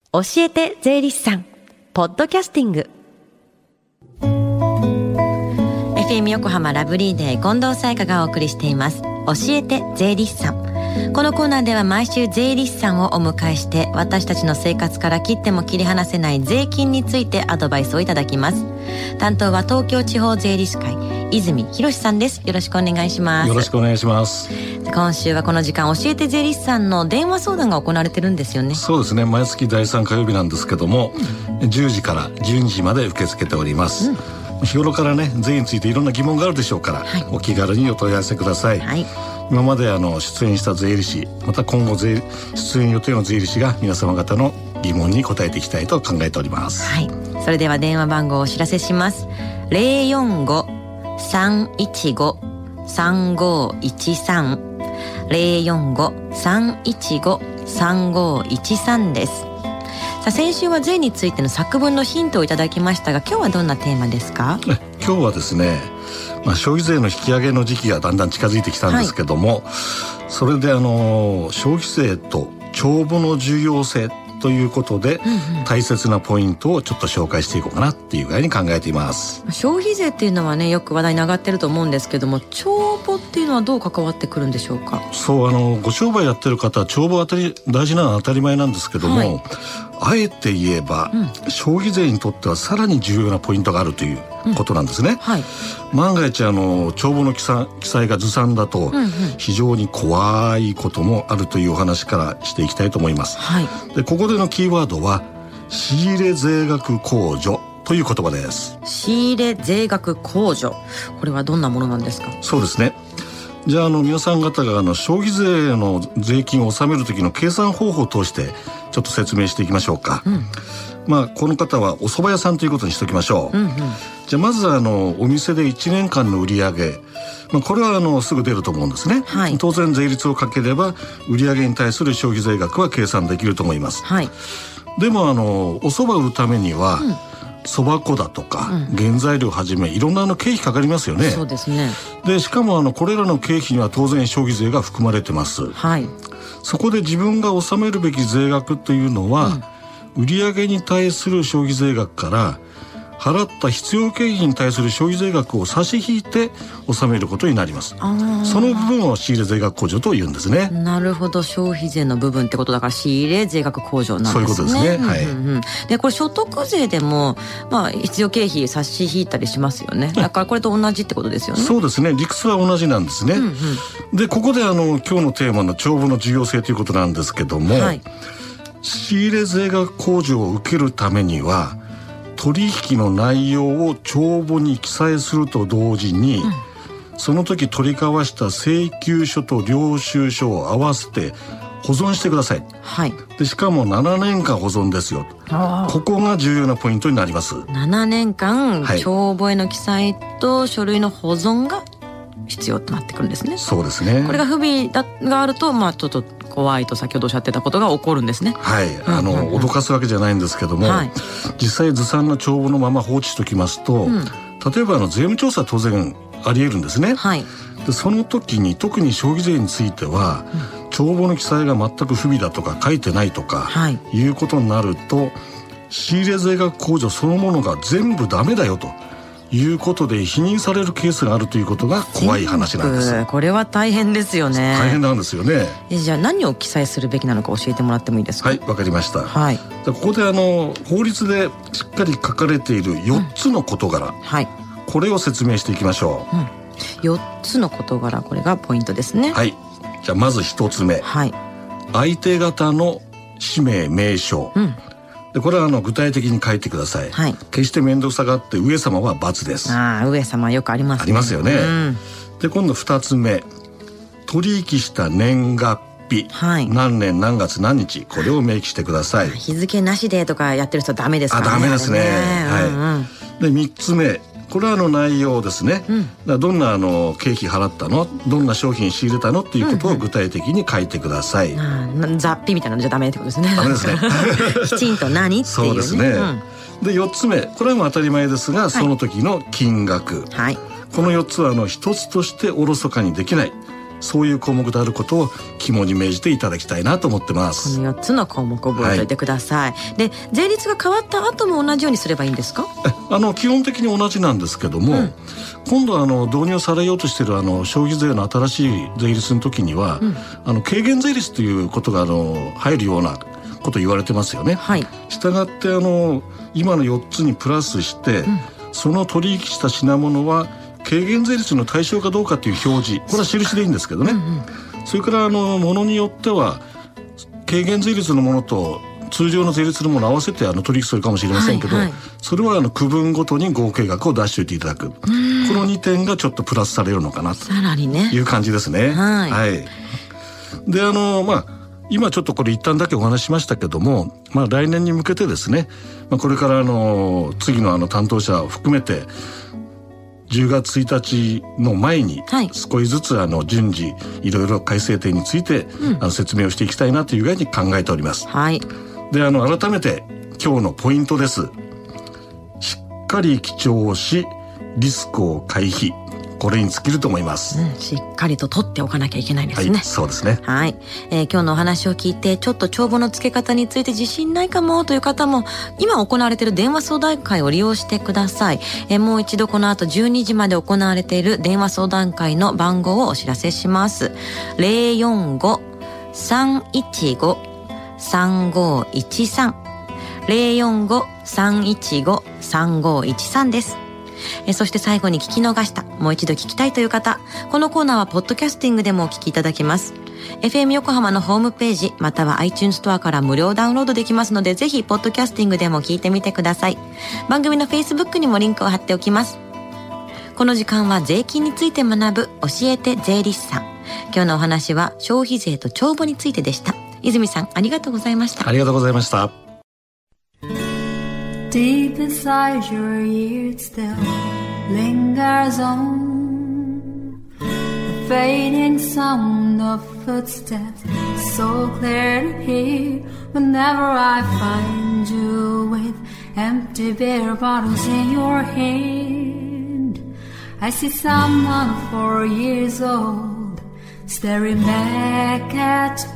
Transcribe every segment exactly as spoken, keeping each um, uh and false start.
教えて税理士さんポッドキャスティング。 エフエム 横浜ラブリーデー近藤沙耶香がお送りしています教えて税理士さん。このコーナーでは毎週税理士さんをお迎えして私たちの生活から切っても切り離せない税金についてアドバイスをいただきます。担当は東京地方税理士会泉博さんです。よろしくお願いします。 よろしくお願いします。 今週はこの時間教えて税理士さんの電話相談が行われてるんですよね。 そうですね、毎月だいさん火曜日なんですけども、うん、じゅうじからじゅうにじまで受け付けております、うん、日頃からね税についていろんな疑問があるでしょうから、はい、お気軽にお問い合わせください、はい。今まであの出演した税理士、また今後税出演予定の税理士が皆様方の疑問に答えていきたいと考えております、はい。 それでは電話番号をお知らせします。 ゼロよんご さんいちご さんごいちさん ゼロよんご さんいちご さんごいちさん です。さあ、先週は税についての作文のヒントをいただきましたが、今日はどんなテーマですか？ 今日はですね、まあ、消費税の引き上げの時期がだんだん近づいてきたんですけども、はい、それであの消費税と帳簿の重要性ということで、うんうん、大切なポイントをちょっと紹介していこうかなっていうぐらいに考えています。 消費税っていうのはね、よく話題に上がってると思うんですけども、帳簿っていうのはどう関わってくるんでしょうか？ そうあのご商売やってる方は帳簿当たり大事なのは当たり前なんですけども、はい、あえて言えば、うん、消費税にとってはさらに重要なポイントがあるということなんですね、うんはい、万が一あの帳簿の記載、記載がずさんだと、うんうん、非常に怖いこともあるというお話からしていきたいと思います、はい。でここでのキーワードは仕入れ税額控除という言葉です。 仕入れ税額控除、これはどんなものなんですか？ そうですね、じゃあ、あの皆さん方があの消費税の税金を納める時の計算方法を通してちょっと説明していきましょうか、うん。まあ、この方はお蕎麦屋さんということにしておきましょう、うんうん。じゃあまずあのお店でいちねんかんの売上、まあ、これはあのすぐ出ると思うんですね、はい。当然税率をかければ売上に対する消費税額は計算できると思います、はい。でもあのお蕎麦を売るためには、うん、そば粉だとか、うん、原材料はじめいろんなあの経費かかりますよね。 そうですね。でしかもあのこれらの経費には当然消費税が含まれてます、はい。そこで自分が納めるべき税額というのは、うん、売上に対する消費税額から払った必要経費に対する消費税額を差し引いて納めることになります。その部分を仕入れ税額控除というんですね。 なるほど、消費税の部分ってことだから仕入れ税額控除なんですね。 そういうことですね、はい。 うんうんうん、でこれ所得税でも、まあ、必要経費差し引いたりしますよね。だからこれと同じってことですよね。 そうですね、理屈は同じなんですね、うんうん。でここであの今日のテーマの帳簿の重要性ということなんですけども、はい、仕入れ税額控除を受けるためには取引の内容を帳簿に記載すると同時に、うん、その時取り交わした請求書と領収書を合わせて保存してください、はい。でしかもななねんかん保存ですよ。ここが重要なポイントになります。 ななねんかん、はい、帳簿への記載と書類の保存が必要となってくるんですね。 そうですね。 これが不備だがあると、まあ、ちょっと怖いと先ほどおっしゃってたことが起こるんですね。 はい、あの、うんうんうん、脅かすわけじゃないんですけども、はい、実際ずさんな帳簿のまま放置しておきますと、うん、例えばあの税務調査は当然あり得るんですね、はい。でその時に特に消費税については、うん、帳簿の記載が全く不備だとか書いてないとか、はい、いうことになると仕入れ税額控除そのものが全部ダメだよということで否認されるケースがあるということが怖い話なんです。 これは大変ですよね。 大変なんですよね。 えじゃあ何を記載するべきなのか教えてもらってもいいですか？ はい、わかりました、はい。ここであの法律でしっかり書かれているよっつの事柄、うん、はい、これを説明していきましょう、うん、 よっつの事柄、これがポイントですね。 はい、じゃあまずひとつめ、はい、相手方の氏名名称、うん、でこれはあの具体的に書いてください、はい。決して面倒くさがって上様は×です。 ああ、上様よくありますね。 ありますよね、うん。で今度ふたつめ、取引した年月日、はい、何年何月何日、これを明記してください。 日付なしでとかやってる人はダメですからね。 あ、ダメですね、はい、うんうん。でみっつめ、これはあの内容ですね、うん、だからどんなあの経費払ったの、どんな商品仕入れたのっていうことを具体的に書いてください、うんうん、雑費みたいなのじゃダメってことですね。 ダメですねきちんと何っていうね。 そうですね、うん。でよっつめ、これはもう当たり前ですが、はい、その時の金額、はい、このよっつはあの一つとしておろそかにできない、 そういう項目であることを肝に銘じていただきたいなと思ってます。 このよっつの項目を覚えておいてください、はい、で税率が変わった後も同じようにすればいいんですか？ あの基本的に同じなんですけども、うん、今度あの導入されようとしているあの消費税の新しい税率の時には、うん、あの軽減税率ということがあの入るようなこと言われてますよね、はい、したがってあの今のよっつにプラスして、うん、その取引した品物は軽減税率の対象かどうかという表示、これは印でいいんですけどね、うんうん、それからあのものによっては軽減税率のものと通常の税率のものを合わせてあの取引するかもしれませんけど、はいはい、それはあの区分ごとに合計額を出しておいていただく、このにてんがちょっとプラスされるのかなという感じですね。はい、はい、であのまあ今ちょっとこれ一旦だけお話ししましたけども、まあ、来年に向けてですね、まあ、これからあの次のあの担当者を含めてじゅうがつついたちの前に少しずつあの順次いろいろ改正点についてあの説明をしていきたいなという具合に考えております、はい、であの改めて今日のポイントです。しっかり記帳しリスクを回避、これに尽きると思います、うん、しっかりと取っておかなきゃいけないですね。はい、そうですね。はい、えー、今日のお話を聞いてちょっと帳簿の付け方について自信ないかもという方も今行われている電話相談会を利用してください。えー、もう一度この後じゅうにじまで行われている電話相談会の番号をお知らせします。 ゼロよんご さんいちご さんごいちさん ゼロよんご さんいちご さんごいちさんです。えそして最後に聞き逃した、もう一度聞きたいという方、このコーナーはポッドキャスティングでもお聞きいただけます。 エフエム 横浜のホームページまたは iTunes ストアから無料ダウンロードできますので、ぜひポッドキャスティングでも聞いてみてください。番組の Facebook にもリンクを貼っておきます。この時間は税金について学ぶ教えて税理士さん。今日のお話は消費税と帳簿についてでした。泉さん、ありがとうございました。 ありがとうございました。 Deep inside your ears still lingers on the fading sound of footsteps, so clear to hear whenever I find you with empty beer bottles in your hand. I see someone four years old staring back at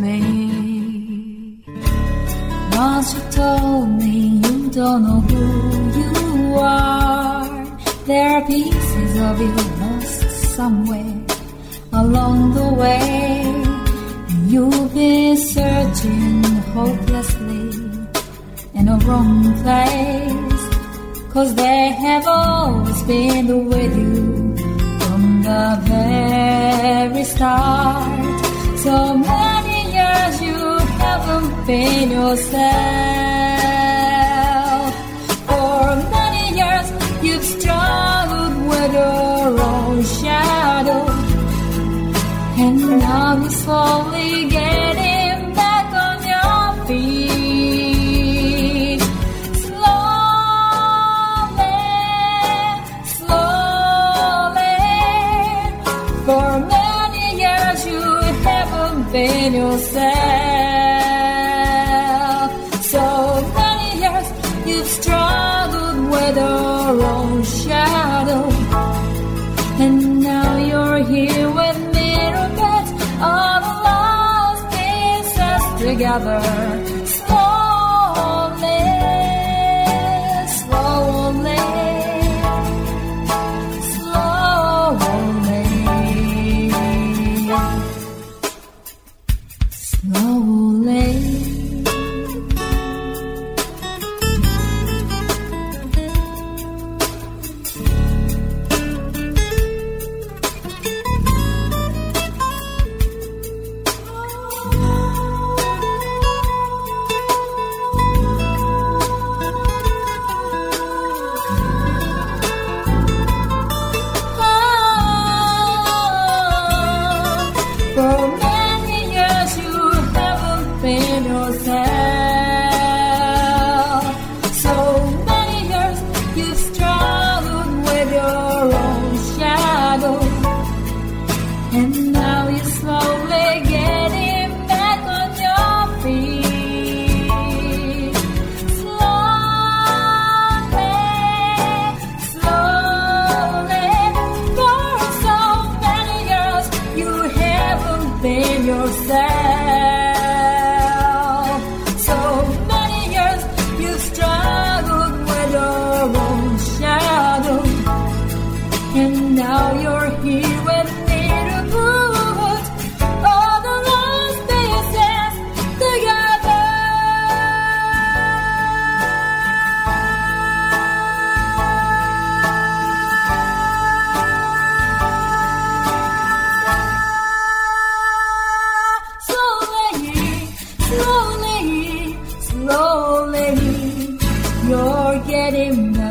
me.Once you told me you don't know who you are, there are pieces of you lost somewhere along the way, and you've been searching hopelessly in a wrong place, 'cause they have always been with you from the very start. So many years you haven't been yourself. For many years you've struggled with your own shadow, and now you're slowly getting back on your feet. Slowly, slowly. For many years you haven't been yourself.So many years you've struggled with your own shadow, and now you're here with mirror beds, all the lost pieces together. Slowly, slowly, slowly.Slowly forgetting